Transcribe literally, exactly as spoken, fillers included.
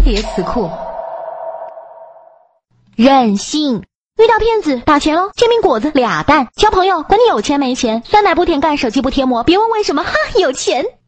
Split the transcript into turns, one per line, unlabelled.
叠词库。任性，遇到骗子打钱喽，煎饼果子俩蛋，交朋友管你有钱没钱，酸奶不舔盖，手机不贴膜，别问为什么，哈，有钱。